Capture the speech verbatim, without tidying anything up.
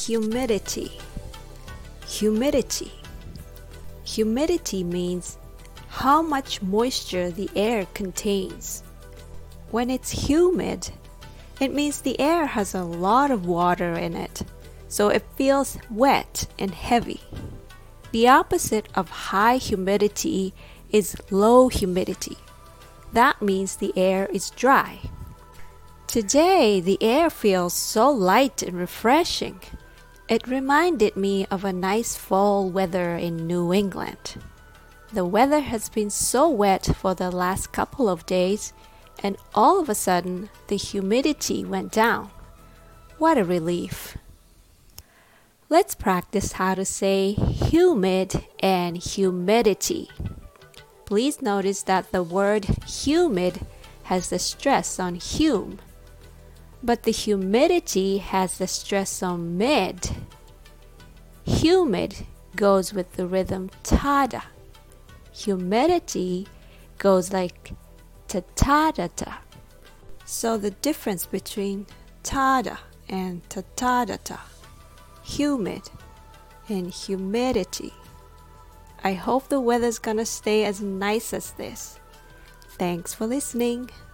Humidity. Humidity. Humidity means how much moisture the air contains. When it's humid, it means the air has a lot of water in it, so it feels wet and heavy. The opposite of high humidity is low humidity. That means the air is dry. Today, the air feels so light and refreshing. It reminded me of a nice fall weather in New England. The weather has been so wet for the last couple of days, and all of a sudden, the humidity went down. What a relief. Let's practice how to say humid and humidity. Please notice that the word humid has the stress on hum, but the humidity has the stress on mid. Humid goes with the rhythm tada. Humidity goes like ta-ta-da-ta. So the difference between tada and ta-ta-da-ta, humid and humidity. I hope the weather's gonna stay as nice as this. Thanks for listening.